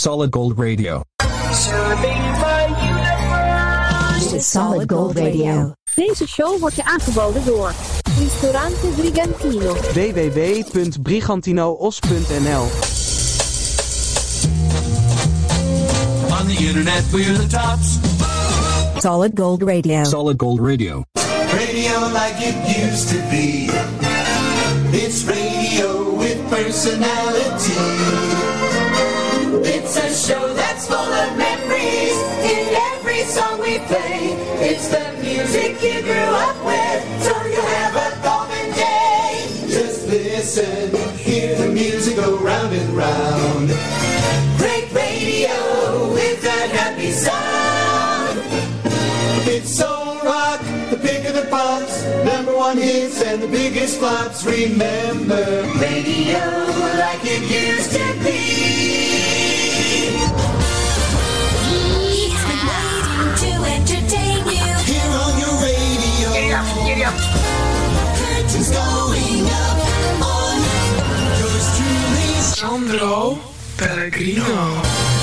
Solid Gold Radio. This is Solid Gold Radio. Deze show wordt je aangeboden door Ristorante Brigantino. www.brigantinoos.nl. On the internet we're the tops. Solid Gold Radio. Solid Gold Radio. Radio like it used to be. It's radio with personality. It's a show that's full of memories in every song we play. It's the music you grew up with, so you have a golden day. Just listen, hear the music go round and round. Great radio with that happy sound. It's soul rock, the pick of the pops, number one hits and the biggest flops. Remember, radio like it used to be. He's been waiting to entertain you. Here on your radio. Giddy up. Curtains going up on yours truly, Sandro Pellegrino.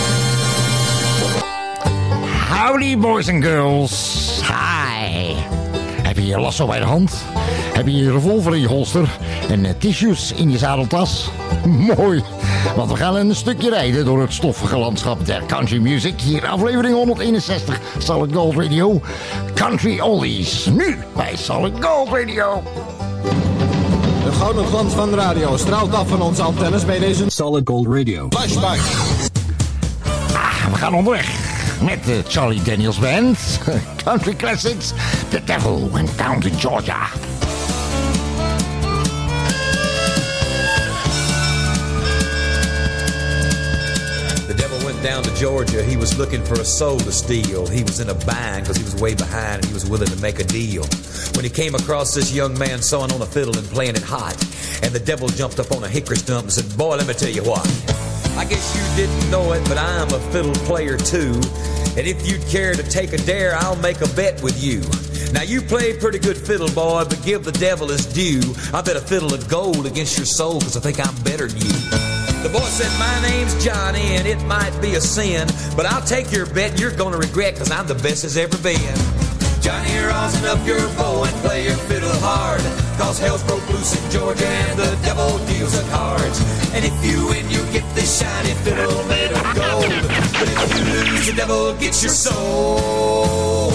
Howdy boys and girls. Hi. Heb je je lasso bij de hand? Heb je je revolver in je holster? En tissues in je zadeltas? Mooi. Want we gaan een stukje rijden door het stoffige landschap der country music. Hier aflevering 161 Solid Gold Radio. Country Oldies. Nu bij Solid Gold Radio. De gouden glans van de radio straalt af van onze antennes bij deze Solid Gold Radio. Flashback. We gaan onderweg met de Charlie Daniels Band. Country Classics. The Devil Went Down to Georgia. Down to Georgia, he was looking for a soul to steal. He was in a bind because he was way behind and he was willing to make a deal. When he came across this young man sawing on a fiddle and playing it hot, and the devil jumped up on a hickory stump and said, "Boy, let me tell you what. I guess you didn't know it, but I'm a fiddle player too. And if you'd care to take a dare, I'll make a bet with you. Now you play pretty good fiddle, boy, but give the devil his due. I bet a fiddle of gold against your soul because I think I'm better than you." The boy said, "My name's Johnny, and it might be a sin, but I'll take your bet and you're gonna regret, cause I'm the best as ever been." Johnny, rosin up your bow and play your fiddle hard, cause hell's broke loose in Georgia and the devil deals the cards. And if you win, you get this shiny fiddle made of gold, but if you lose, the devil gets your soul.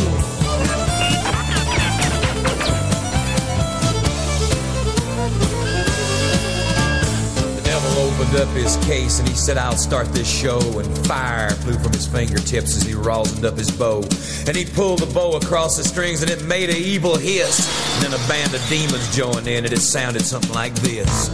Opened up his case and he said, "I'll start this show," and fire flew from his fingertips as he rosined up his bow, and he pulled the bow across the strings and it made an evil hiss, and then a band of demons joined in and it sounded something like this.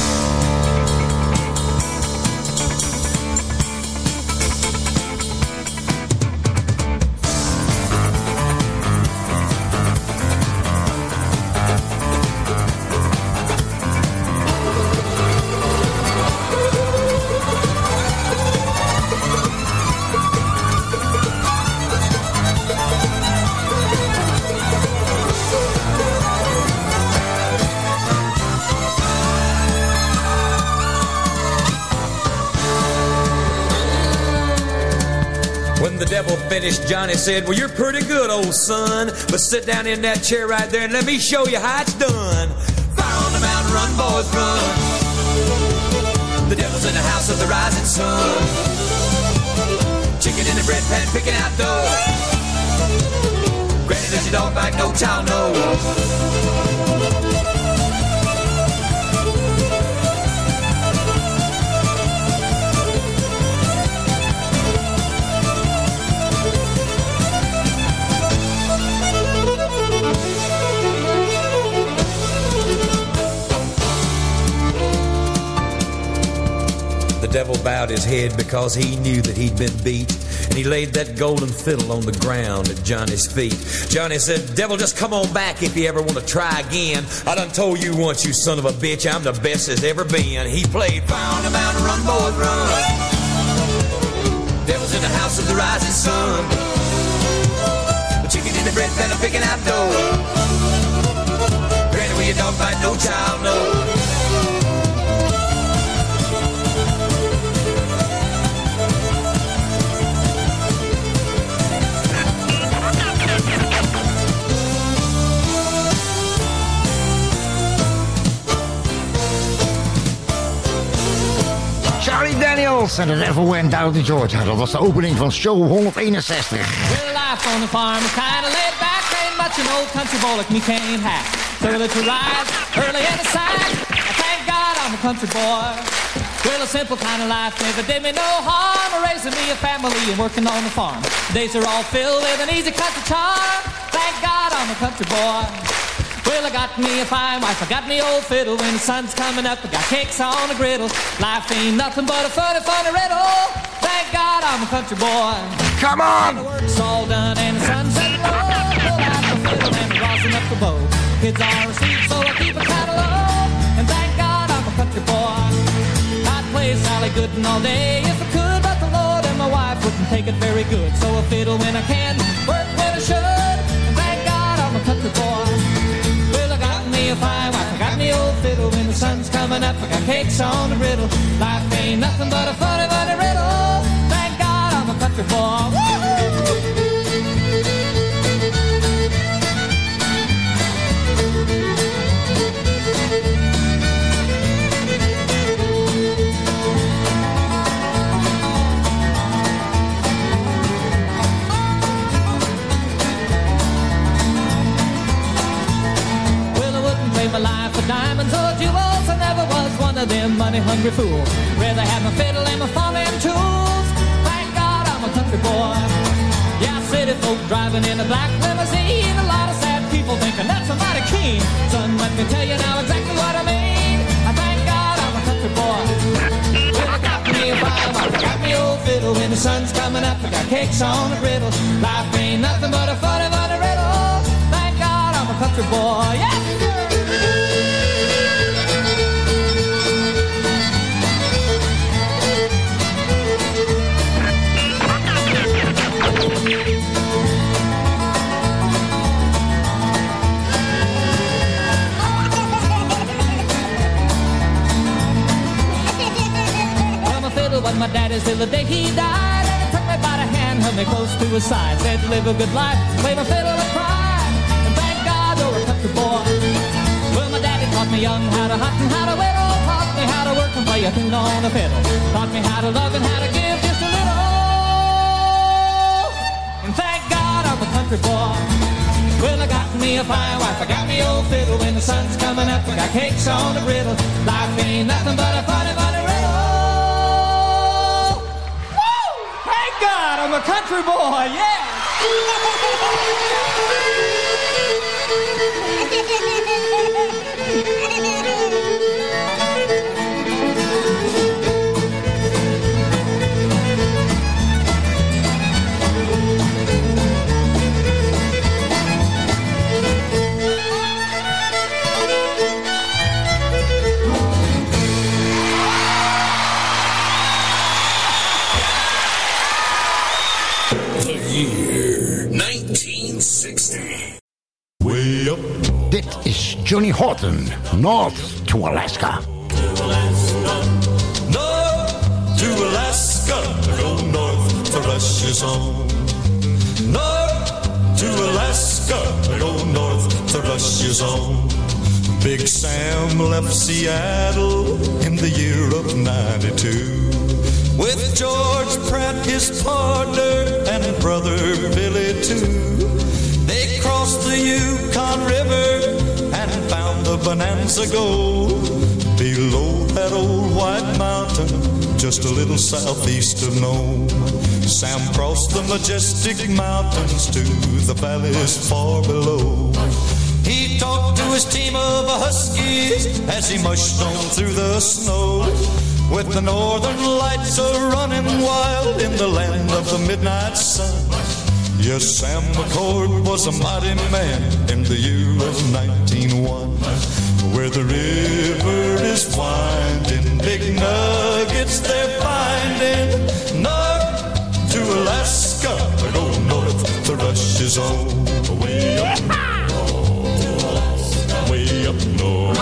Finished, Johnny said, "Well, you're pretty good, old son, but sit down in that chair right there and let me show you how it's done. Fire on the mountain, run, boys, run. The devil's in the house of the rising sun. Chicken in the bread pan, picking out dough. Granny, does your dog bite? No child knows." The devil bowed his head because he knew that he'd been beat, and he laid that golden fiddle on the ground at Johnny's feet. Johnny said, "Devil, just come on back if you ever want to try again. I done told you once, you son of a bitch, I'm the best as ever been." He played, "Fire on the mountain, run, boys, run. Devil's in the house of the rising sun. The chicken in the bread pan, I'm picking out dough. Granny, where your dog bite, no child knows." Eagles en The Devil Went Down to Georgia. Dat was de opening van show 161. Well, life on the farm is kind of laid back. Ain't much an old country boy like me can't hack. So that you rise early and aside. Thank God I'm a country boy. Well, a simple kind of life never did me no harm. Raising me a family and working on the farm. Days are all filled with an easy country charm. Thank God I'm a country boy. Well, I got me a fine wife, I got me old fiddle. When the sun's coming up, I got cakes on the griddle. Life ain't nothing but a funny, funny riddle. Thank God I'm a country boy. Come on! The work's all done and the sun's setting low. Pull out the fiddle and rosin up the bow. Kids are asleep, so I keep a catalog. And thank God I'm a country boy. I'd play Sally Gooden all day if I could, but the Lord and my wife wouldn't take it very good. So I fiddle when I can, work when I should. And thank God I'm a country boy. A fine wife, I got me old fiddle. When the sun's coming up, I got cakes on the griddle. Life ain't nothing but a funny, funny riddle. Thank God I'm a country boy. Woo-hoo! My life for diamonds or jewels. I never was one of them money-hungry fools. Rather have my fiddle and my farming tools. Thank God I'm a country boy. Yeah, city folk driving in a black limousine. A lot of sad people thinking that's a mighty keen. Son, let me tell you now exactly what I mean. I thank God I'm a country boy. Well, I got me a fine wife, I got me old fiddle. When the sun's coming up, I got cakes on the griddle. Life ain't nothing but a funny, funny riddle. Thank God I'm a country boy. Yeah. Was my daddy's till the day he died, and he took me by the hand, held me close to his side, said live a good life, play my fiddle and cry, and thank God you're a country boy. Well, my daddy taught me young how to hunt and how to whittle, taught me how to work and play a tune on the fiddle, taught me how to love and how to give just a little, and thank God I'm a country boy. Well, I got me a fine wife, I got me old fiddle. When the sun's coming up, I got cakes on the griddle. Life ain't nothing but a funny, funny riddle. God, I'm a country boy, yeah! Way up. Dit is Johnny Horton, North to Alaska. North to Alaska, go north to Russia's home. North to Alaska, go north to Russia's home. Big Sam left Seattle in the year of 92. With George Pratt, his partner, and brother Billy too. They crossed the Yukon River and found the Bonanza Gold below that old white mountain, just a little southeast of Nome. Sam crossed the majestic mountains to the valleys far below. He talked to his team of huskies as he mushed on through the snow. With the northern lights a-running wild in the land of the midnight sun. Yes, Sam McCord was a mighty man in the year of 1901. Where the river is winding, big nuggets they're finding. North to Alaska, go north to Russia's own. Way up north, way up north.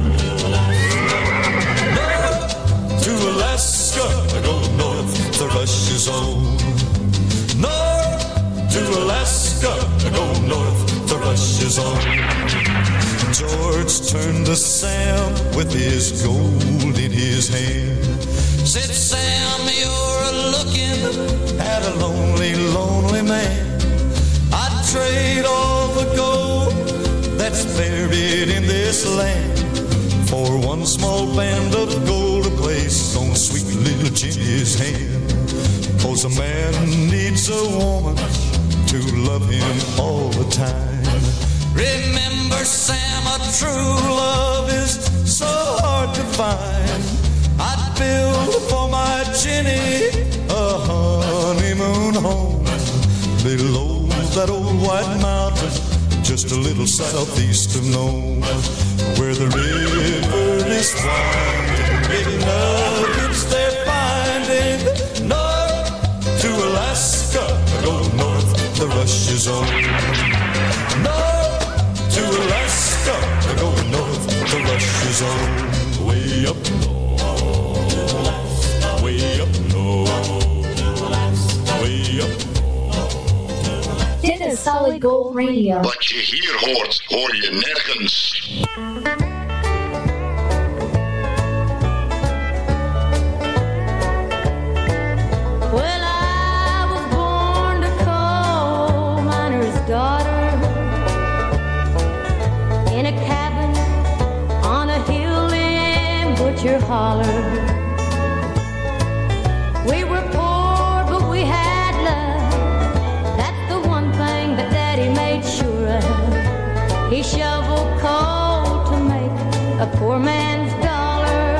To Alaska, go north to Russia's own. North to Alaska, go north to Russia's own. George turned to Sam with his gold in his hand. said, Sam, you're looking at a lonely, lonely man. I'd trade all the gold that's buried in this land for one small band of gold to place on sweet little Jenny's hand. 'Cause a man needs a woman to love him all the time. Remember, Sam, a true love is so hard to find. I'd build for my Jenny a honeymoon home below that old white mountain, just a little southeast of Nome, where the river is winding, big nuggets they're finding. North to Alaska, go north, the rush is on. North to Alaska, go north, the rush is on. Way up north, way up north, way up north. Dit is Solid Gold Radio. Wat je hier hoort, hoor je nergens. Well, I was born a coal miner's daughter in a cabin on a hill in Butcher Holler. We were poor, but we had love. That's the one thing that Daddy made sure of. He shoveled coal to make a poor man's dollar.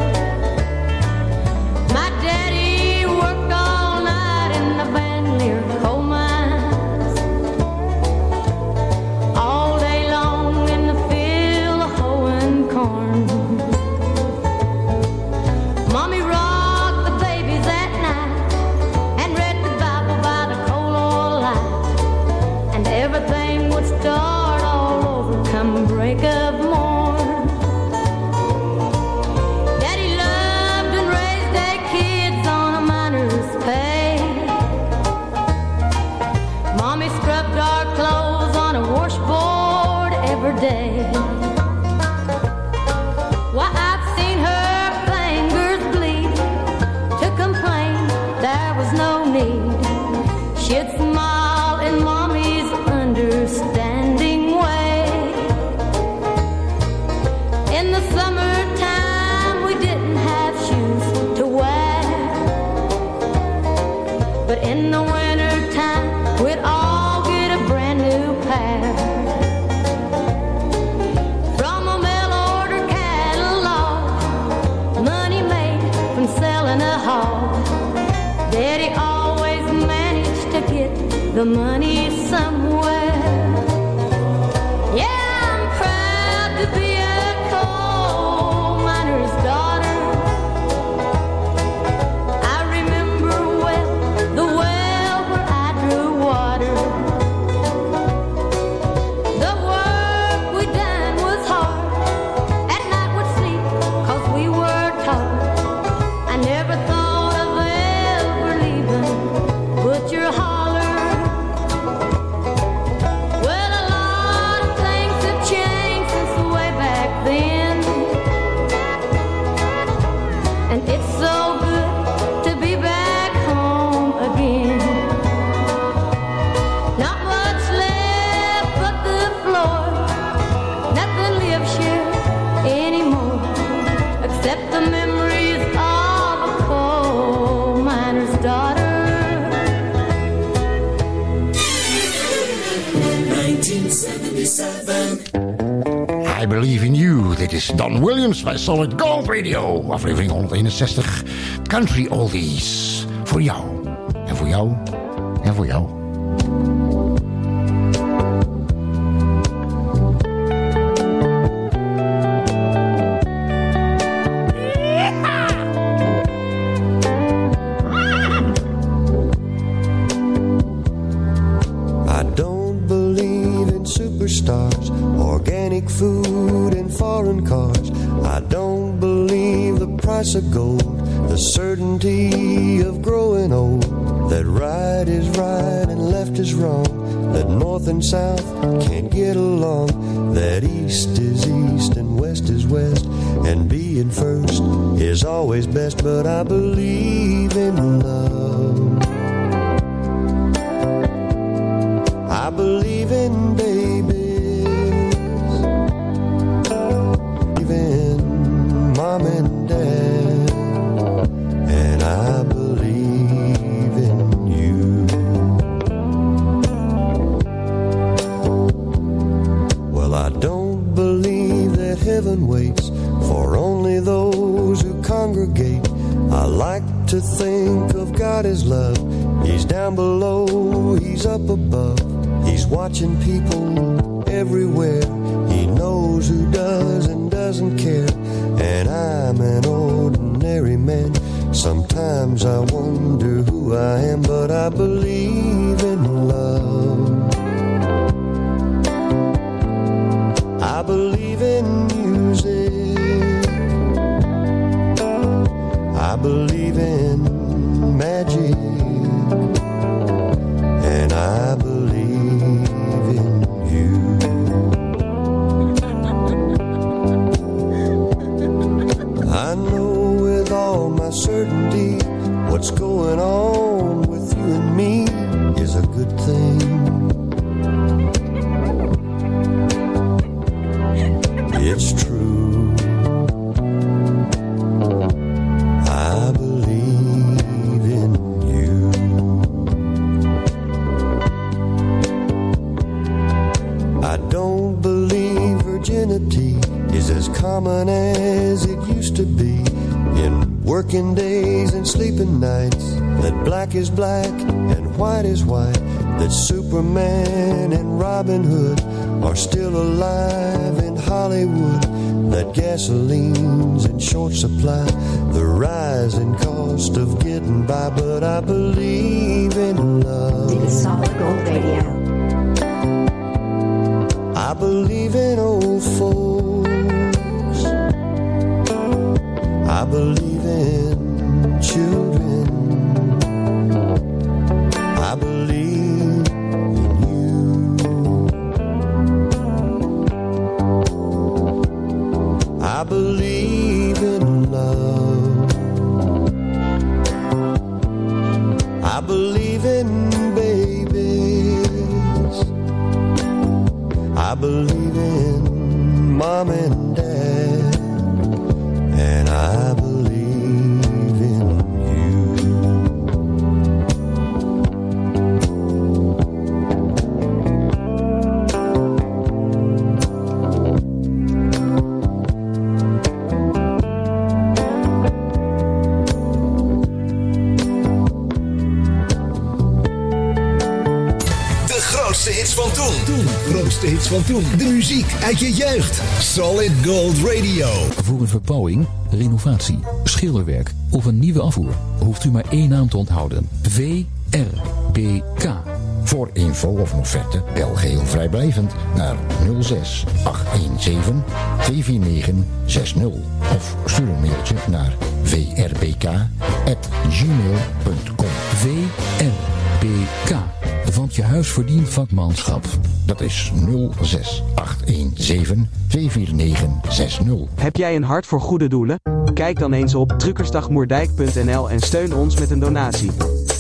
My daddy worked all night in the Bandelier coal mines, all day long in the field hoeing corn. Mommy rocked the babies at night and read the Bible by the coal oil light, and everything would start all over come break of morn. Daddy loved and raised their kids on a miner's pay. Mommy scrubbed our clothes on a washboard every day. Why, I've seen her fingers bleed to complain there was no need. She'd smile in Mommy's understanding way. In the summertime we didn't have shoes to wear, but in the wintertime we'd all get a brand new pair. From a mail order catalog, money made from selling a hog. Daddy always managed to get the money somewhere. Yeah, I'm proud to be a coal miner's daughter. I remember well the well where I drew water. The work we done was hard. At night we'd sleep 'cause we worked hard. I never thought of ever leaving Butcher Holler. Well, a lot of things have changed since way back then, and it's so good to be back home again. Not much left but the floor. Nothing lives here anymore except the memories of a coal miner's daughter. 1977. I Believe in You. Dit is Don Williams bij Solid Gold Radio. Aflevering 161. Country Oldies. Voor jou. En voor jou. En voor jou. I don't believe in superstars, organic food and foreign cars. I don't believe the price of gold, the certainty of growing old, that right is right and left is wrong, that north and south can't get along, that east is east and west is west, and being first is always best. But I believe in love, I believe in babies, even mom and dad, and I believe in you. Well, I don't believe that heaven waits for only those who congregate. I like to think of God as love. He's down below, he's up above. He's watching people everywhere. He knows who does and doesn't care. And I'm an ordinary man. Sometimes I wonder who I am, but I believe in love. I believe in music. I believe in magic. And I believe in you. I know with all my certainty what's going on with you and me is a good thing. It's true. I believe in you. I don't believe virginity is as common as it used to be. In working days and sleeping nights, that black is black and white is white, that Superman and Robin Hood are still alive in Hollywood, that gasoline's in short supply, the rising cost of getting by, but I believe in love. Dit is Solid Gold Radio. I believe in old folks. I believe in children. I believe in you. I believe in love. I believe in babies. I believe in mom and dad. And I believe in you. De grootste hits van toen. Grootste hits van toen. De muziek uit je jeugd. Solid Gold Radio. Voor een verbouwing, renovatie, schilderwerk of een nieuwe afvoer hoeft u maar één naam te onthouden. VRBK. Voor info of een offerte bel geheel vrijblijvend naar 06 817 24960 of stuur een mailtje naar vrbk@gmail.com. VRBK. Want je huis verdient vakmanschap. Dat is 06 817 24960. Heb jij een hart voor goede doelen? Kijk dan eens op truckersdagmoerdijk.nl en steun ons met een donatie.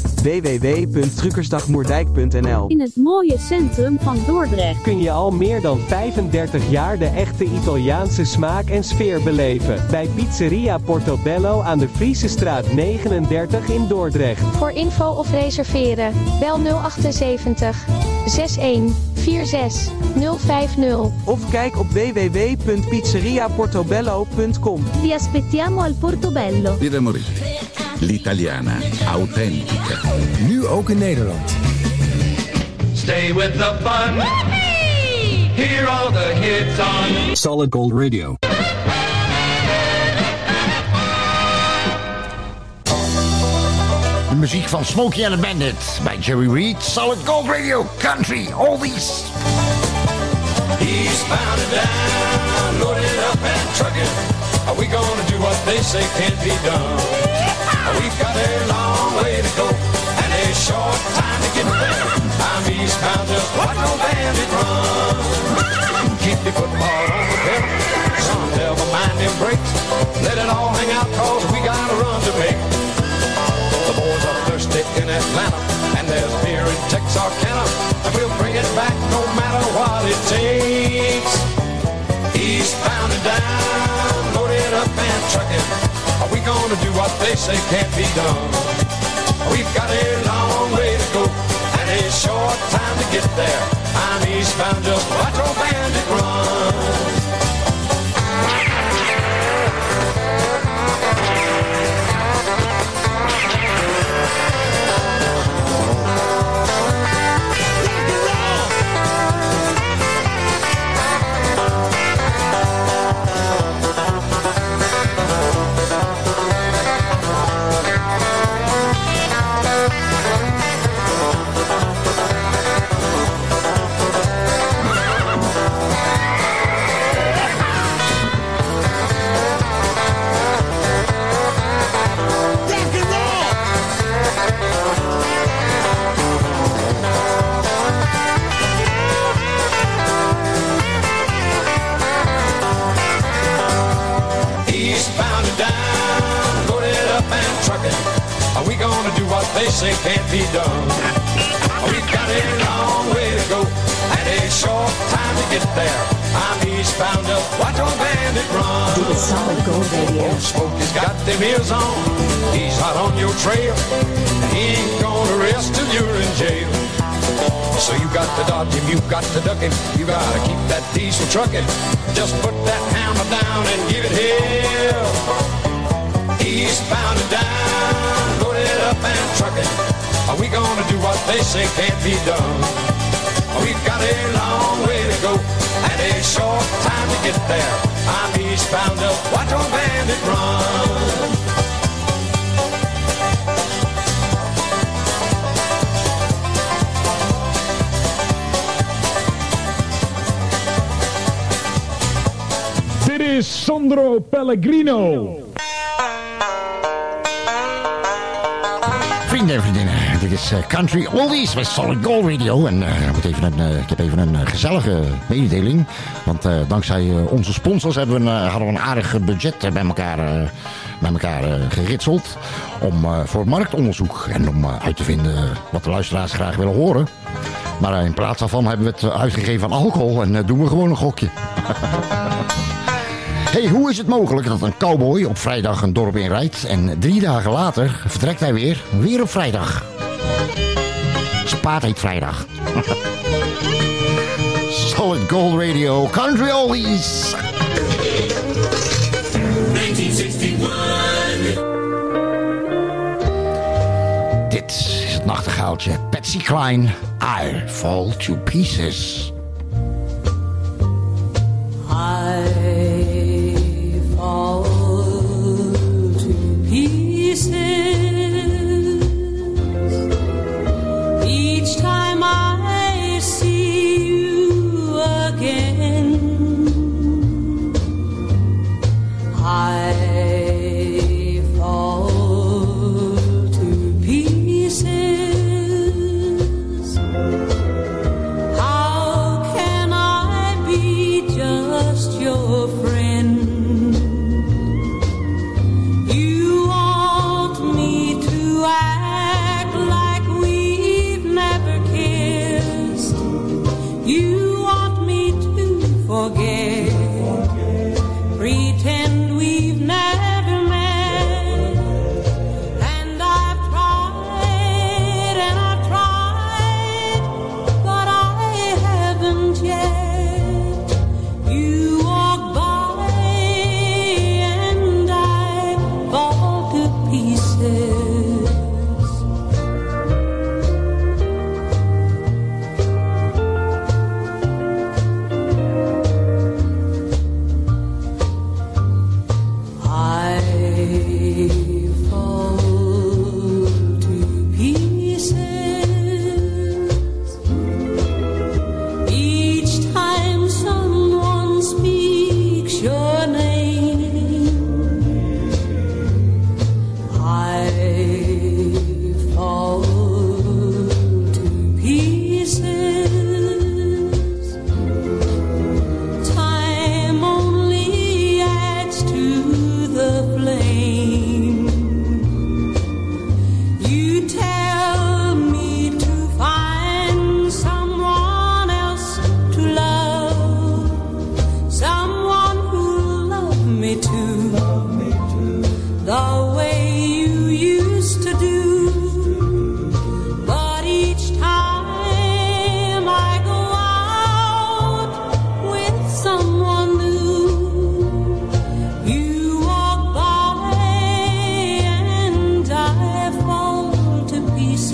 www.truckersdagmoerdijk.nl. In het mooie centrum van Dordrecht kun je al meer dan 35 jaar de echte Italiaanse smaak en sfeer beleven. Bij Pizzeria Portobello aan de Friesestraat 39 in Dordrecht. Voor info of reserveren, bel 078 61 46 050. Of kijk op www.pizzeriaportobello.com. Vi aspettiamo al Portobello. Birra Moretti, l'italiana authentica. Nu ook in Nederland. Stay with the fun. Hear all the hits on Solid Gold Radio. De muziek van Smokey and the Bandit bij Jerry Reed. Solid Gold Radio. Country. Oldies. He's bound and down, loaded up and trucking. Are we gonna do what they say can't be done? We've got a long way to go and a short time to get there. I'm eastbound, just what music in Atlanta, and there's beer in Texarkana, and we'll bring it back no matter what it takes. Eastbound and down, loaded up and trucking. Are we gonna do what they say can't be done? We've got a long way to go and a short time to get there. I'm eastbound, just watch old bandit run. They say can't be done. We've got a long way to go and a short time to get there. I'm eastbound up, watch old bandit run. Dit is Solid Gold Radio. Old Smokey's got them ears on. He's hot on your trail, and he ain't gonna rest till you're in jail. So you got to dodge him, you got to duck him, you gotta keep that diesel trucking. Just put that hammer down and give it hell. Eastbound and down, loaded up and trucking. Are we gonna do what they say can't be done? We've got a long way to go and a short time to get there. I'm eastbound up, watch old bandit run. Dit is Sandro Pellegrino. Vrienden en vriendinnen, dit is Country Oldies bij Solid Gold Radio. En ik heb even een gezellige mededeling. Want dankzij onze sponsors hadden we een aardig budget bij elkaar geritseld. Voor marktonderzoek en om uit te vinden wat de luisteraars graag willen horen. Maar in plaats daarvan hebben we het uitgegeven aan alcohol en doen we gewoon een gokje. Hey, hoe is het mogelijk dat een cowboy op vrijdag een dorp inrijdt en 3 dagen later vertrekt hij weer op vrijdag? Spaat heet vrijdag. Solid Gold Radio, Country Oldies. 1961. Dit is het nachtegaaltje Patsy Cline, I Fall to Pieces. I fall to pieces each time I see you again. I fall to pieces. How can I be just your friend? You want me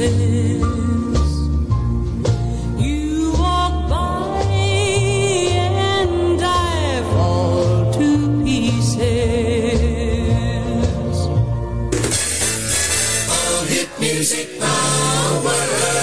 pieces. You walk by and I fall to pieces. All hit music power.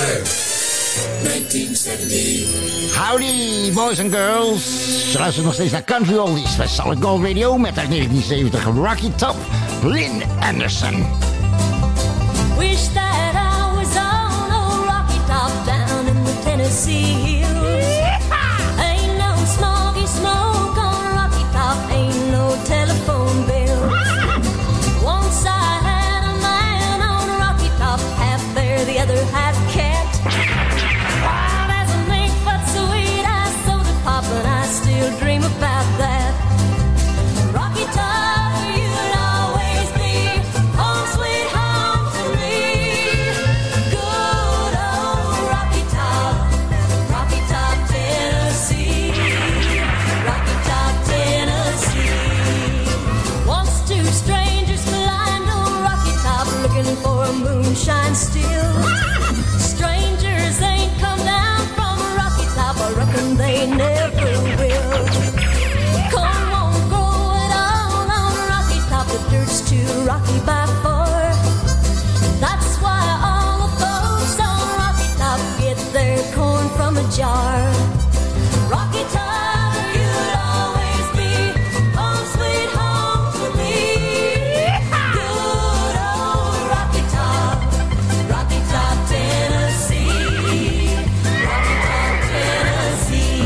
1970. Howdy, boys and girls. Je luistert nog steeds naar Country Oldies bij Solid Gold Radio met uit 1970 Rocky Top, Lynn Anderson. Wish that I was on a Rocky Top down in the Tennessee hills. Ain't no smoggy smoke on Rocky Top, ain't no telephone bill. Once I had a man on Rocky Top, half bear, the other half cat. Wild as a mink, but sweet as soda pop, and I still dream about that. Rocky Top, you'd always be home sweet home to me. Good old Rocky Top, Tennessee. Rocky Top, Tennessee. Once two strangers collided on Rocky Top, looking for a moonshine still. Strangers ain't come down from Rocky Top, I reckon they never will. Corn won't grow at all on Rocky Top, the dirt's too rocky by far. That's why all the folks on Rocky Top get their corn from a jar. Rocky Top, you'll always be home sweet home to me. Good old Rocky Top, Tennessee. Rocky Top, Tennessee.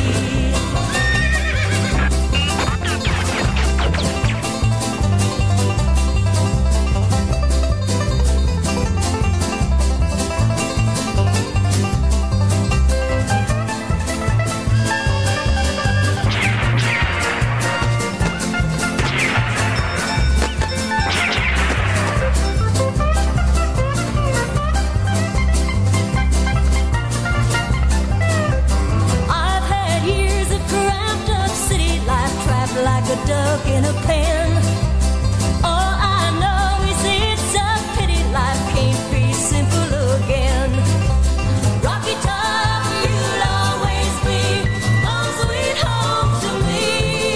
I've had years of cramped up city life, trapped like a duck in a pen. All I know is it's a pity life can't be simple again. Rocky Top, you'll always be home sweet home to me.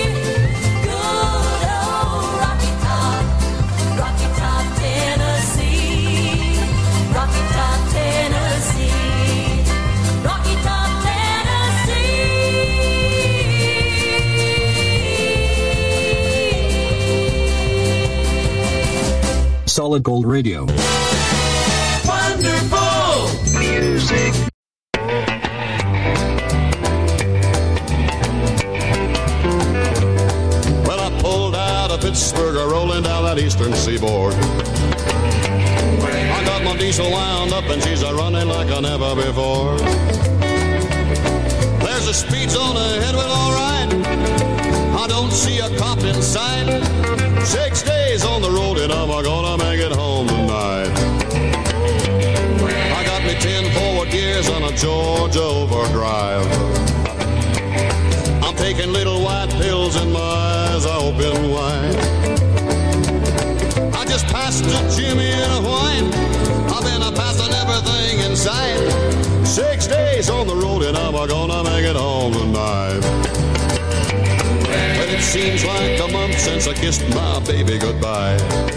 Good old Rocky Top, Tennessee. Rocky Top, Tennessee. Rocky Top, Tennessee. Solid Gold Radio. Wonderful music. Well, I pulled out of Pittsburgh, rolling down that eastern seaboard. I got my diesel wound up and she's a-running like I never before. There's a speed zone ahead, well, all right. I don't see a cop in sight. 6 days on the road and I'm gonna make it home tonight. I got me 10 forward gears on a Georgia overdrive. I'm taking little white pills and my eyes are open wide. I just passed a Jimmy in a white. I've been passing everything in sight. 6 days on the road and I'm gonna make it home tonight. But it seems like a month since I kissed my baby goodbye.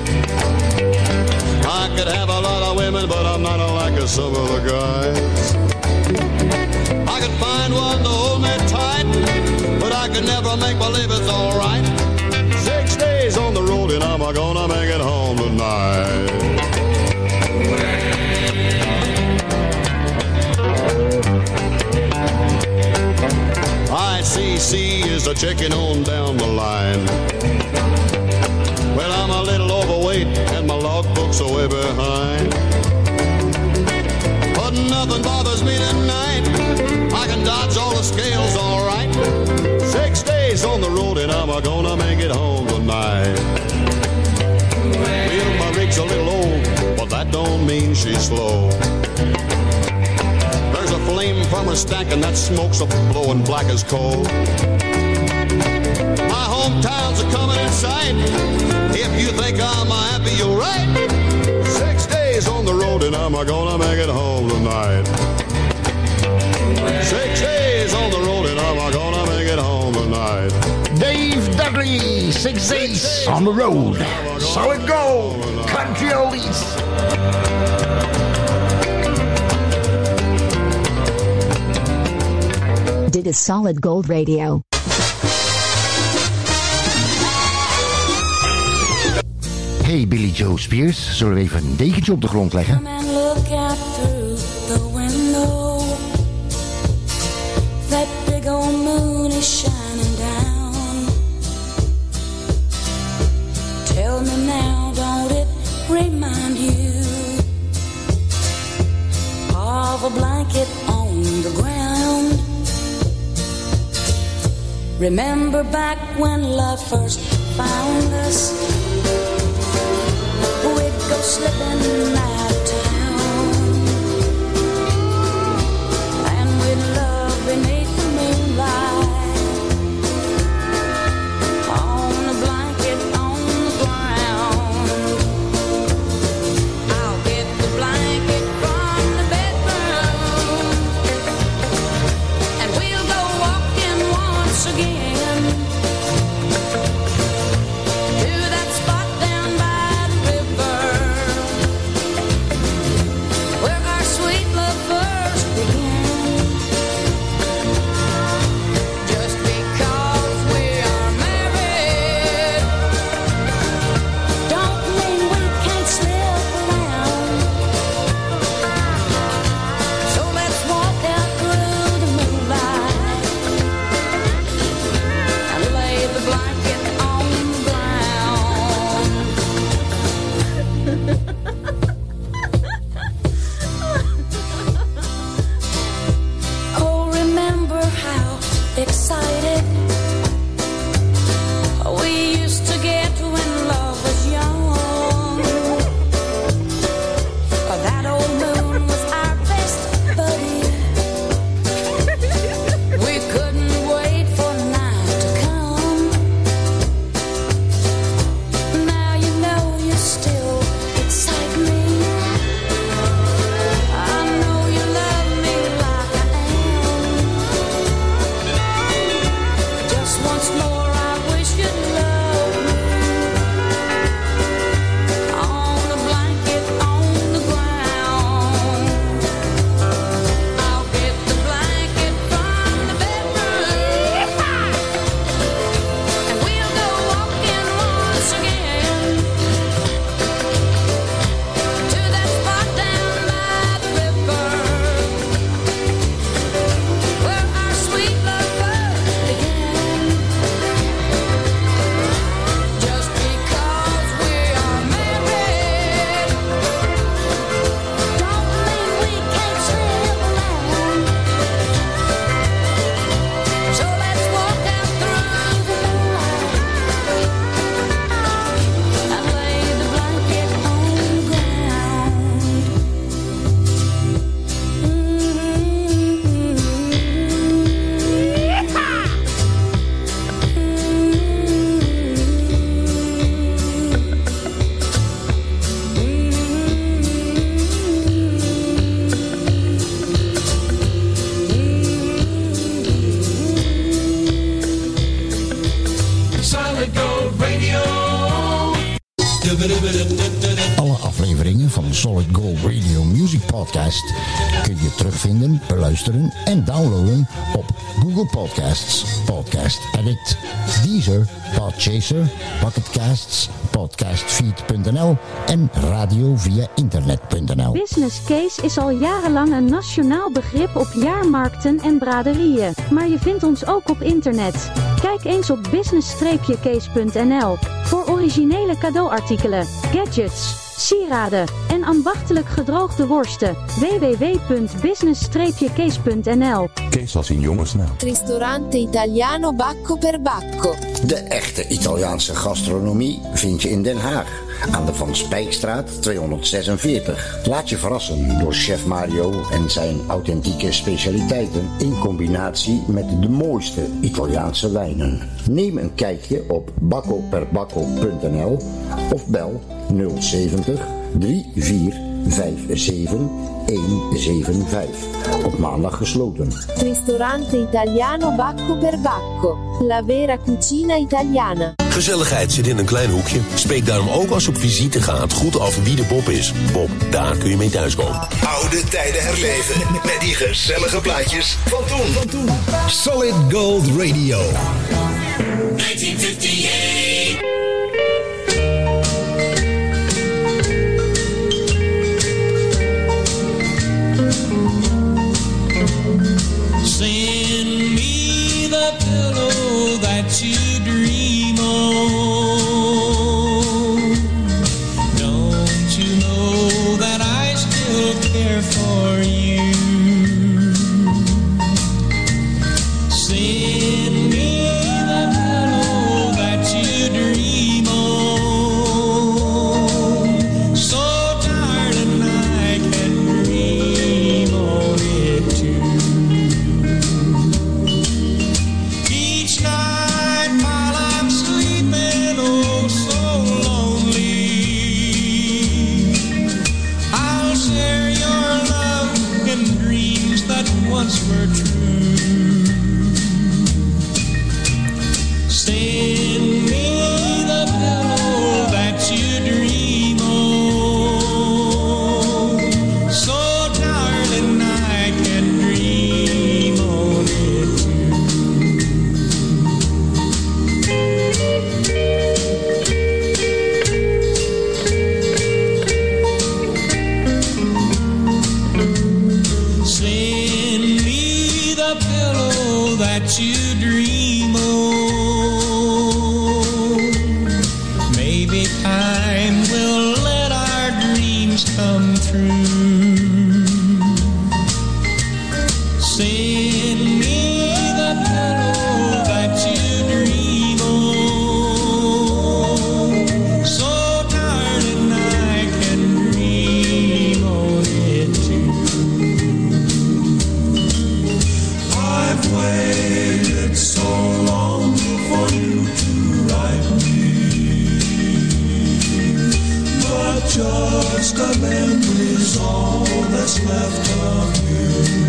I could have a lot of women, but I'm not like some of the guys. I could find one to hold me tight, but I could never make believe it's alright. 6 days on the road and I'm gonna make it home tonight. ICC is a checking on down the line. Well, I'm a little overweight and my logbook's are way behind. But nothing bothers me tonight. I can dodge all the scales all right. 6 days on the road and I'm gonna make it home tonight. Well, my rig's a little old, but that don't mean she's slow. There's a flame from her stack and that smoke's a blowing black as coal. My hometown's a coming in sight. If you think I'm happy, you're right. 6 days days on the road and am I gonna make it home tonight? 6 days on the road and am I gonna make it home tonight? Dave Dudley, 6 days on the road. Solid Gold, country oldies. Dit is Solid Gold Radio. Hey Billy Joe Spears, zullen we even een dekentje op de grond leggen? Come and look out through the window. That big old moon is shining down. Tell me now, don't it remind you of a blanket on the ground? Remember back when love first found us? We'd go slipping out of town, and we'd love beneath the moonlight, on a blanket on the ground. I'll get the blanket from the bedroom, and we'll go walking once again to that spot down by the river where our sweet love first began. Just because we are married don't mean we can't slip around. So let's walk out through the moonlight and lay the blanket on the ground. Oh, remember how excited we used to get when love was young. That old moon was our best buddy. We couldn't wait for night to come. Now you know you still excite me. I know you love me like I am. Just once more I wish you'd love me on a blanket on the ground. I'll get the blanket from the bedroom, and we'll go walking once again to that spot down by the river where our sweet love first began. Just because we are married don't mean we can't slip around. So let's walk out through the moonlight and lay the blanket on the ground. Solid Gold Radio. Alle afleveringen van Solid Gold Radio Music Podcast kun je terugvinden, beluisteren en downloaden op Google Podcasts, Podcast Addict, Deezer, Podchaser, Pocket Casts, podcastfeed.nl en radio via internet.nl. Business Case is al jarenlang een nationaal begrip op jaarmarkten en braderieën, maar je vindt ons ook op internet. Kijk eens op business-case.nl voor originele cadeauartikelen, gadgets, sieraden en ambachtelijk gedroogde worsten. www.business-case.nl. Kees als in jongensnaam. Ristorante Italiano Bacco per Bacco. De echte Italiaanse gastronomie vind je in Den Haag. Aan de Van Spijkstraat 246. Laat je verrassen door chef Mario en zijn authentieke specialiteiten in combinatie met de mooiste Italiaanse wijnen. Neem een kijkje op baccoperbacco.nl of bel 070 34 57175. Op maandag gesloten. Ristorante Italiano Bacco per Bacco. La vera cucina italiana. Gezelligheid zit in een klein hoekje. Spreek daarom ook als je op visite gaat goed af wie de Bob is. Bob, daar kun je mee thuiskomen. Oude tijden herleven met die gezellige plaatjes van toen. Solid Gold Radio. 1958. Send me the pillow that you dream on. Don't you know that I still care for you? Send me the pillow that you dream on. So tired and I can dream on it too. Each night while I'm sleeping, oh so lonely, I'll share your love and dreams that once were true. Send me the pillow that you dream on, so darling I can dream on it too. Send me the pillow that you dream on. Maybe time will let our dreams come true. Send me the pillow that you dream on, so darling I can dream on it too. I've waited so long for you to write me, but just a memory's all that's left of you.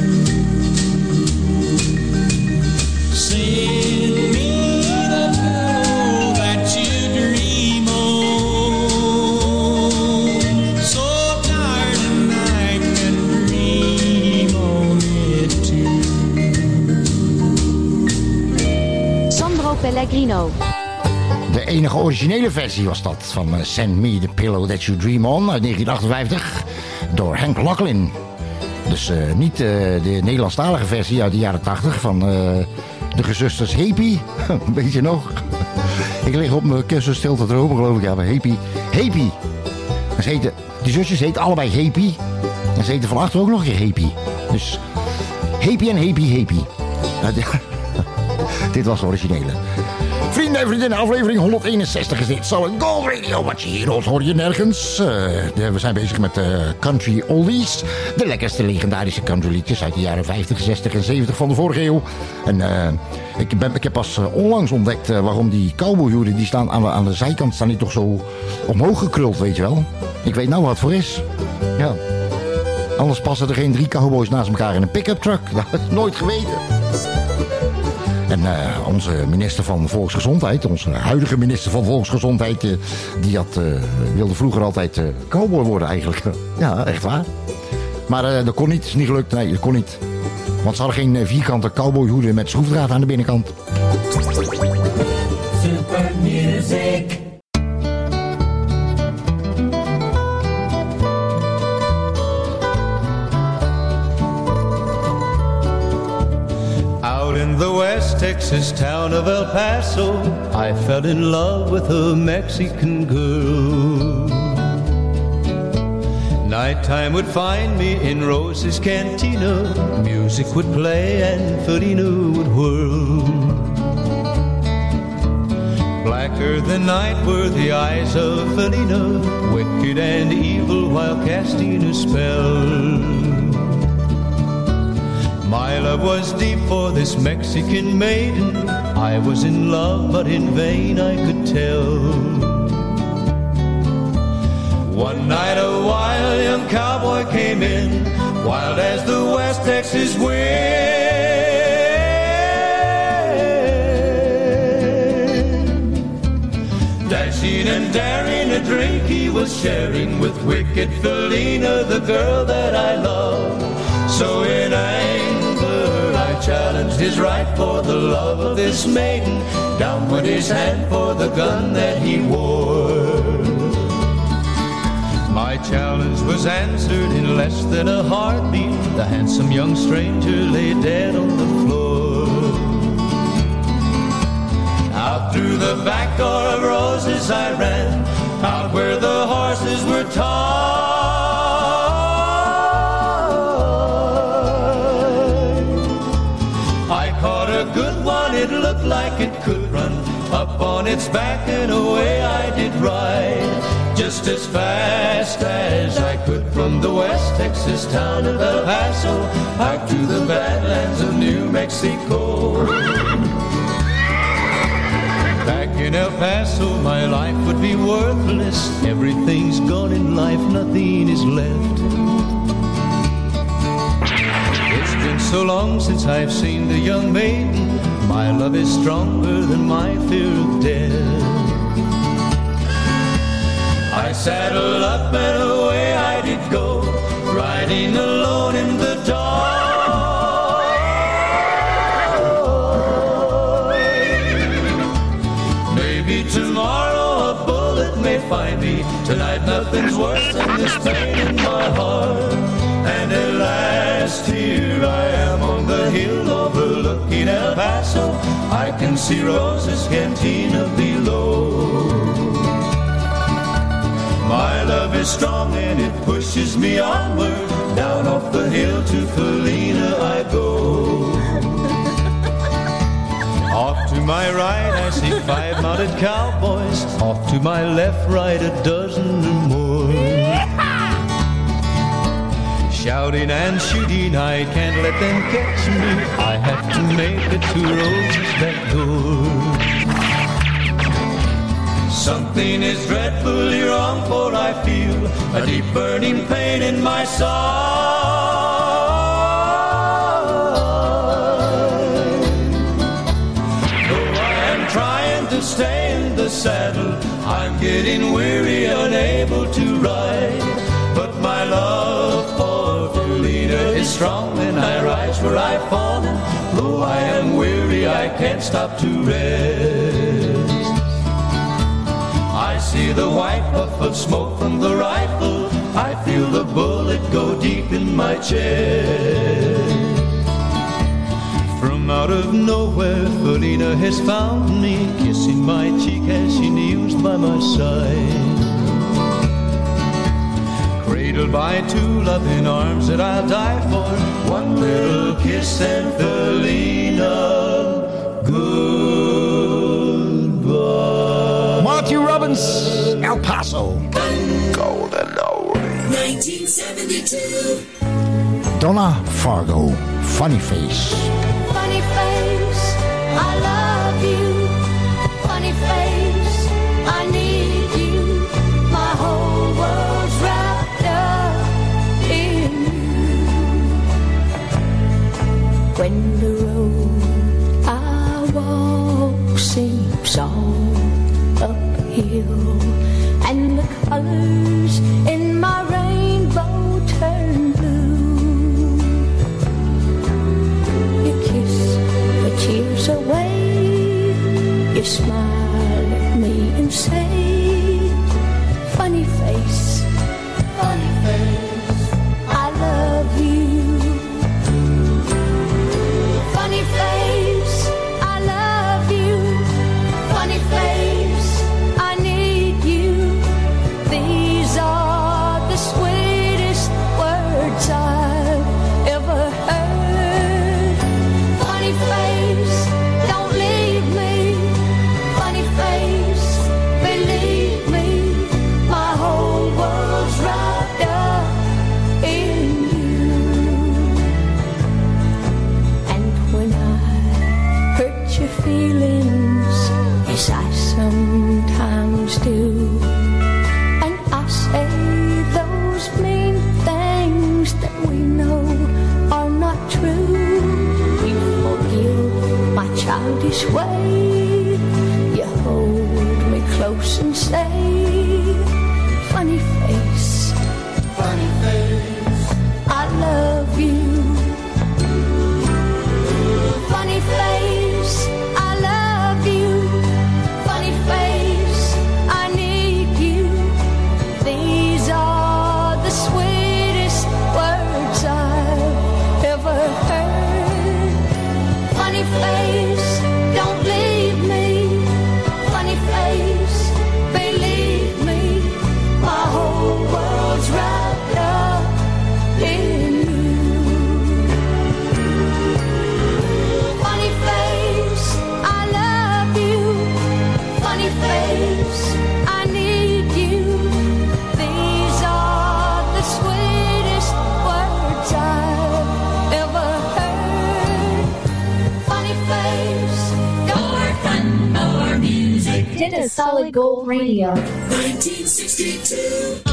Send me the pillow that you dream on, so darling I can dream on it too. Sandro Pellegrino. De enige originele versie was dat van Send Me the Pillow That You Dream On uit 1958 door Hank Locklin. Dus niet de Nederlandstalige versie uit de jaren 80 van de gezusters Happy. Weet je nog? Ik lig op mijn kussen stil te dromen, geloof ik. Ja, maar Happy. Happy. Die zusjes heten allebei Happy. En ze heten van achter ook nog een keer Happy. Dus Happy en Happy Happy. Dit was de originele. Vrienden en vriendinnen, aflevering 161 is dit. Solid Gold Radio. Wat je hier hoort, hoor je nergens. We zijn bezig met country oldies. De lekkerste legendarische country liedjes uit de jaren 50, 60 en 70 van de vorige eeuw. En ik heb pas onlangs ontdekt waarom die cowboyhoeden, die staan aan de zijkant, staan die toch zo omhoog gekruld, weet je wel. Ik weet nou wat het voor is. Ja. Anders passen er geen 3 cowboys naast elkaar in een pick-up truck. Dat is nooit geweten. En onze minister van Volksgezondheid, onze huidige minister van Volksgezondheid, die wilde vroeger altijd cowboy worden eigenlijk. Ja, echt waar. Maar dat kon niet, is niet gelukt. Nee, dat kon niet. Want ze hadden geen vierkante cowboyhoeden met schroefdraad aan de binnenkant. Super music. Out in the West Texas town of El Paso, I fell in love with a Mexican girl. Nighttime would find me in Rose's Cantina. Music would play and Felina would whirl. Blacker than night were the eyes of Felina, wicked and evil while casting a spell. My love was deep for this Mexican maiden. I was in love, but in vain I could tell. One night a wild young cowboy came in, wild as the West Texas wind. Dashing and daring, a drink he was sharing with wicked Felina, the girl that I love. So in anger I challenged his right for the love of this maiden. Down went his hand for the gun that he wore. My challenge was answered in less than a heartbeat. The handsome young stranger lay dead on the floor. Out through the back door of roses I ran, out where the horses were tied. I caught a good one, it looked like it could run. Up on its back and away I did ride, just as fast as I could from the West Texas town of El Paso out to the Badlands of New Mexico. Back in El Paso my life would be worthless. Everything's gone in life, nothing is left. It's been so long since I've seen the young maiden. My love is stronger than my fear of death. I saddled up and away I did go, riding alone in the dark. Maybe tomorrow a bullet may find me. Tonight nothing's worse than this pain in my heart. And at last here I am on the hill overlooking El Paso. I can see Rosa's cantina below. My love is strong and it pushes me onward. Down off the hill to Felina I go. Off to my right I see 5 mounted cowboys. Off to my left, right, a dozen or more. Shouting and shooting, I can't let them catch me. I have to make it to Rosa's back door. Something is dreadfully wrong, for I feel a deep burning pain in my side. Though I am trying to stay in the saddle, I'm getting weary, unable to ride. But my love for Felina is strong, and I rise where I've fallen. Though I am weary, I can't stop to rest. I see the white puff of smoke from the rifle. I feel the bullet go deep in my chest. From out of nowhere, Felina has found me, kissing my cheek as she kneels by my side. Cradled by 2 loving arms that I'll die for. One little kiss and Felina, goodbye. Marty Robbins, El Paso. Golden Hour. 1972. Donna Fargo, Funny Face. Funny face, I love you. Funny face, I need you. My whole world's wrapped up in you. When the road I walk seems all uphill, and the colors in my rainbow turn blue, you kiss the tears away, you smile at me and say, funny face, I love you. this way. You hold me close and say, funny face, I love you. Funny face, I love you. Funny face, I need you. These are the sweetest words I've ever heard. Funny face, don't leave me. Funny face, believe me. My whole world's wrapped up in you. Funny face, I love you. Funny face, I need you. These are the sweetest words I've ever heard. Funny face, More fun, more music. Dit is Solid Gold Radio. 1962.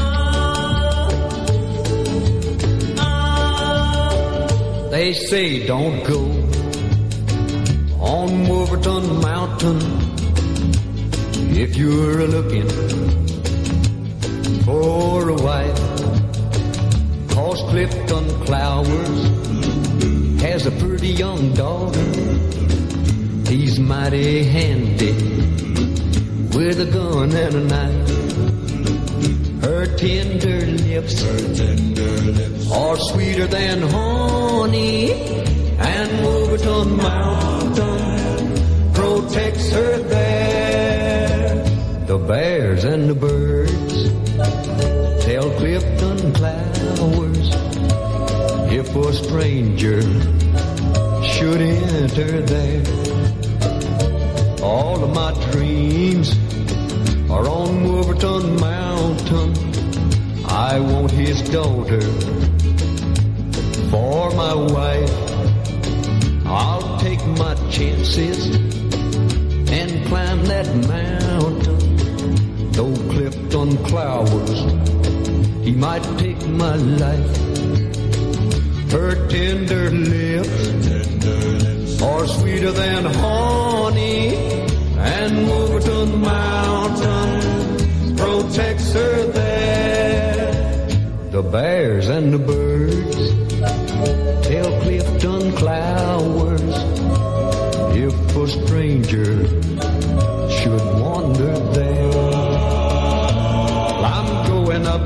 They say don't go on Wolverton Mountain if you're looking for a wife. 'Cause Clifton Clowers has a pretty young daughter. He's mighty handy with a gun and a knife. Her tender lips are sweeter than honey, and Wolverton Mountain protects her there. The bears and the birds tell Clifton Clowers if a stranger should enter there. All of my dreams are on Wolverton Mountain. I want his daughter for my wife. I'll take my chances and climb that mountain. Though Clifton Clowers, he might take my life. Her tender lips are sweeter than honey, and Wolverton Mountain protects her there. The bears and the birds tell Clifton Clowers if a stranger should wander there. I'm going up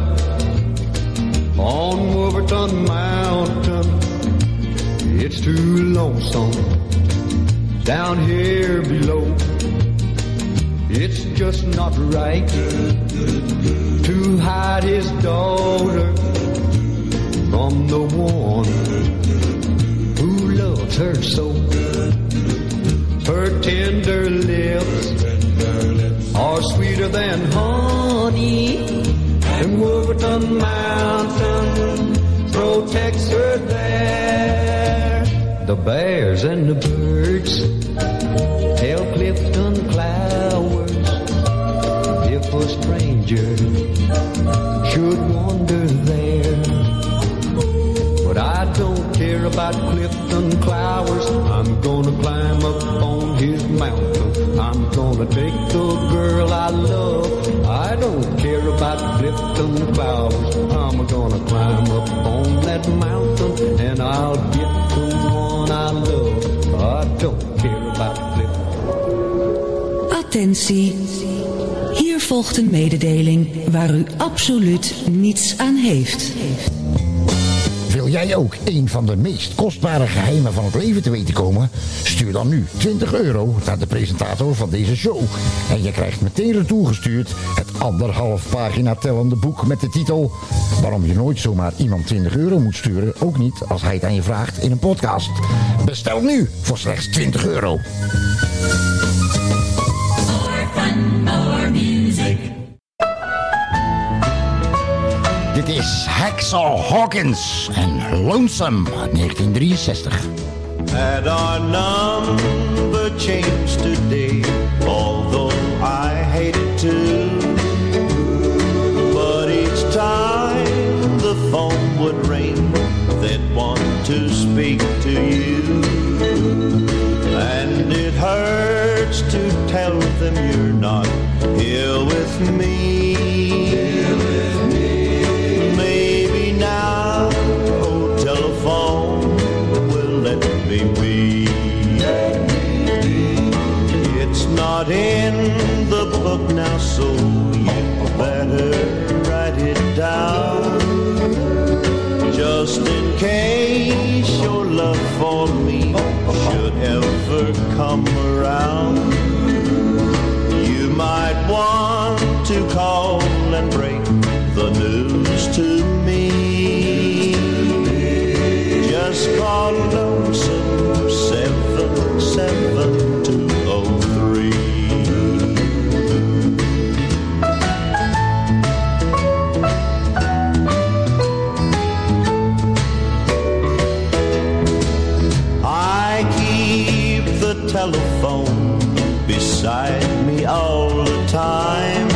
on Wolverton Mountain. It's too lonesome down here below. It's just not right to hide his daughter from the one who loves her so. Her tender lips are sweeter than honey, and Wolverton Mountain protects her there. The bears and the birds tell Clifton Clowers if a stranger should wander there. But I don't care about Clifton Clowers. I'm gonna climb up on his mountain. I'm gonna take the girl I love. I don't care about Clifton Clowers. I'm gonna climb up on that mountain and I'll get the one I love. I don't care about Clifton. Attentie. Hier volgt een mededeling waar u absoluut niets aan heeft. Wil jij ook een van de meest kostbare geheimen van het leven te weten komen? Stuur dan nu €20 naar de presentator van deze show. En je krijgt meteen retour gestuurd het 1,5 pagina tellende boek met de titel Waarom je nooit zomaar iemand €20 moet sturen, ook niet als hij het aan je vraagt in een podcast. Bestel nu voor slechts €20. More fun, more music. Dit is Hacksaw Hawkins en Lonesome uit 1963. Had our number changed today, although I hated to. But each time the phone would ring, they'd want to speak to you. And it hurts to tell them you're not here with me. Maybe now, oh telephone, will let me be. It's not in the book now, so you better write it down. Just in case your love for me should ever come around, you might want to call and break the news to me. Just call lonesome 77203. Telephone beside me all the time,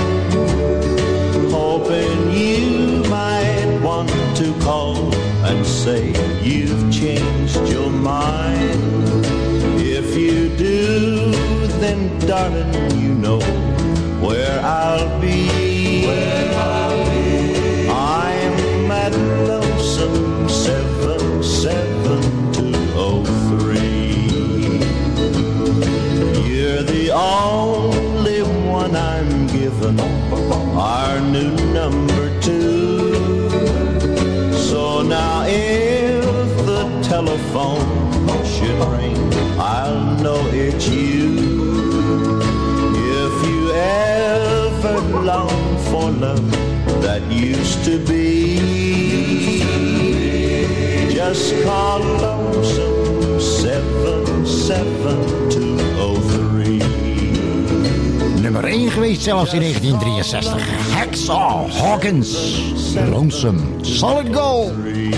hoping you might want to call and say you've changed your mind. If you do, then darling, you know where I'll be. I'm at lonesome 77203. You're the only one I'm given, our new number 2. So now if the telephone should ring, I'll know it's you. If you ever long for love that used to be, just call lonesome 77203. Nummer 1 geweest zelfs in 1963. Hacksaw Hawkins, Lonesome, Solid Gold.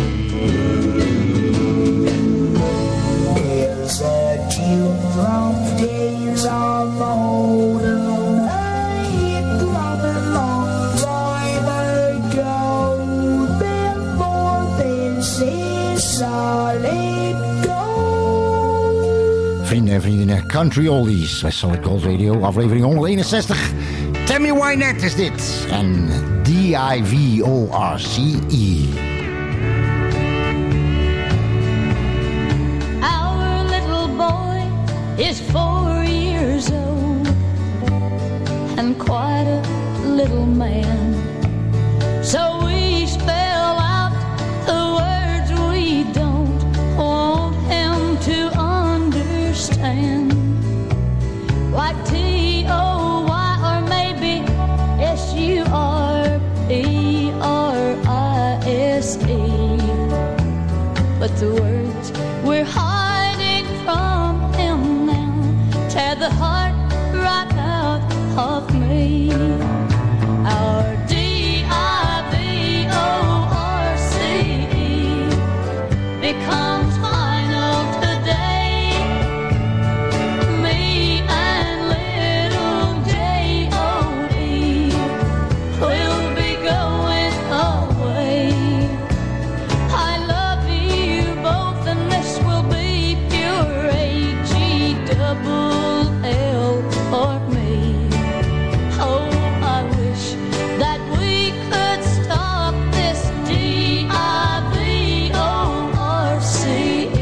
It's a few long days on the hold alone. It long time ago. Before this is solid gold. Vrienden en vriendinnen, Country Oldies bij Solid Gold Radio, aflevering 161. Tammy Wynette is dit. En D-I-V-O-R-C-E. Our little boy is 4 years old and quite a little man. So we spell out the words we don't want him to understand. Like T-O-Y or maybe S-U-R-P-R-I-S-E. But the words we're hiding from him now tear the heart right out of me. Our D-I-V-O-R-C-E becomes final today. Me and little J-O-E will be going away. I love you both and this will be pure A-G-double-L for me. Oh, I wish that we could stop this D-I-V-O-R-C-E.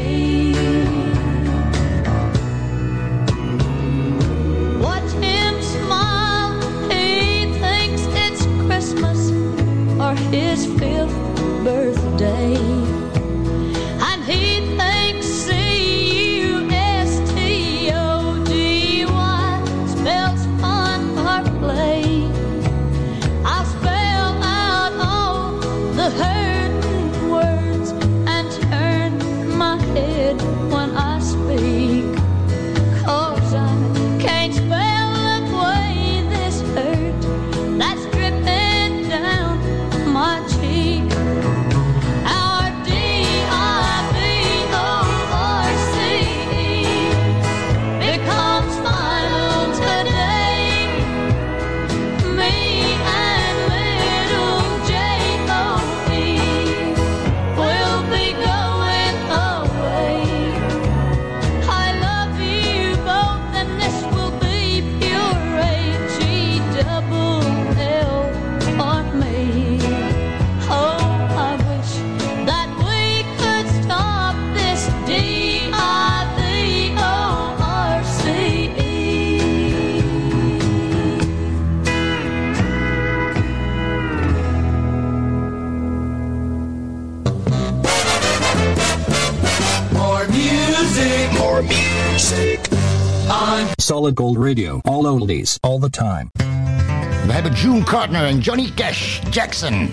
music on Solid Gold Radio. All oldies, all the time. We hebben June Carter en Johnny Cash, Jackson.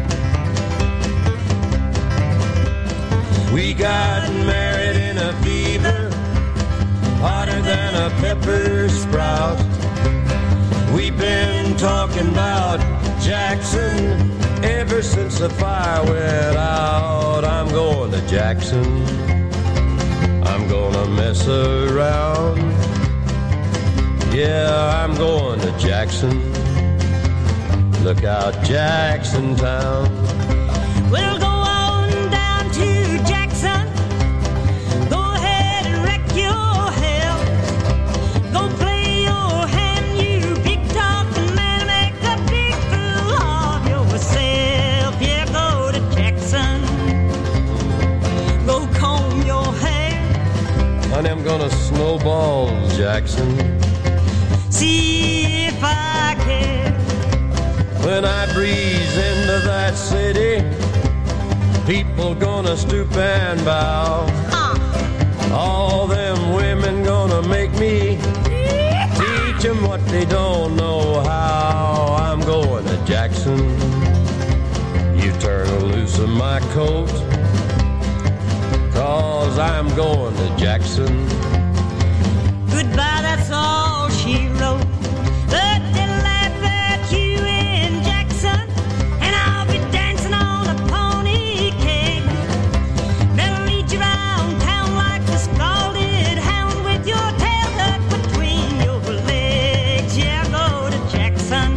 We got married in a fever, hotter than a pepper sprout. We've been talking about Jackson ever since the fire went out. I'm going to Jackson, I'm gonna mess around. Yeah, I'm going to Jackson. Look out, Jackson Town. We'll go on down to Jackson. Go ahead and wreck your hell. Go play your hand, you big talking man. Make a big fool of yourself. Yeah, go to Jackson. Go comb your hair. Honey, I'm gonna snowball Jackson. See if I care. When I breeze into that city, people gonna stoop and bow. All them women gonna make me teach them what they don't know how. I'm going to Jackson. You turn loose of my coat, 'cause I'm going to Jackson. Goodbye, that's all she wrote. But they'll laugh at you in Jackson, and I'll be dancing on a pony cake. They'll lead you around town like a scalded hound with your tail tucked between your legs. Yeah, go to Jackson,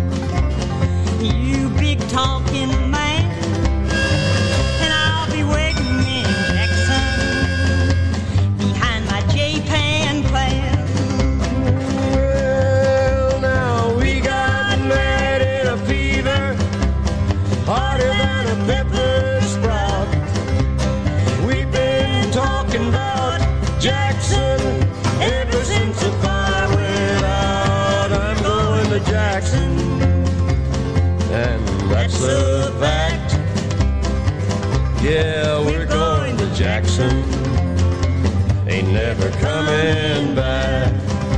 you big talking man, and I'll be waiting in Jackson behind my J-Pan plan. Well, now we got married in a fever, hotter than a pepper sprout. We've been talking about Jackson ever since the fire went out. I'm going to Jackson, and that's a fact. Yeah, we're going to Jackson. Ain't never coming back.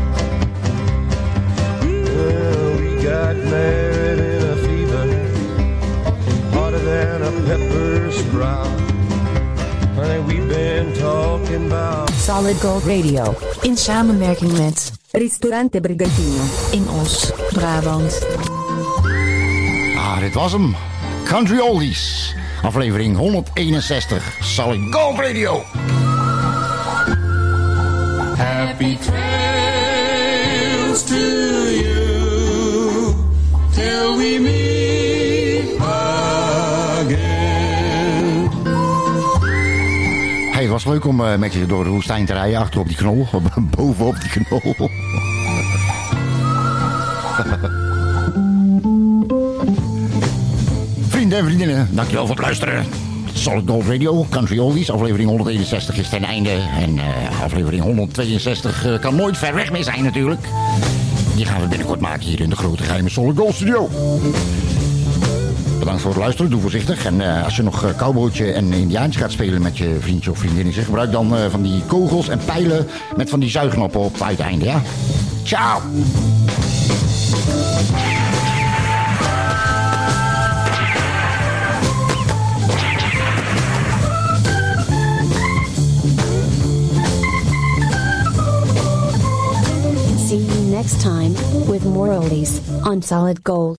Well, we got married in a fever, hotter than a pepper sprout. Honey, we've been talking about Solid Gold Radio. In samenwerking met Ristorante Brigantino in Os, Brabant. Ah, dit was hem. Country Oldies. Aflevering 161. Solid Gold Radio. Happy trails to you till we meet again. Hey, het was leuk om met je door de woestijn te rijden, achter op die knol, bovenop die knol. Vrienden en vriendinnen, dankjewel voor het luisteren. Solid Gold Radio, Country Oldies, aflevering 161 is ten einde. En aflevering 162 kan nooit ver weg meer zijn natuurlijk. Die gaan we binnenkort maken hier in de grote geheime Solid Gold Studio. Bedankt voor het luisteren, doe voorzichtig. En als je nog cowboytje en indiaantje gaat spelen met je vriendje of vriendinnetje, gebruik dan van die kogels en pijlen met van die zuigknoppen op het uiteinde, ja? Ciao! See you next time with more oldies on Solid Gold.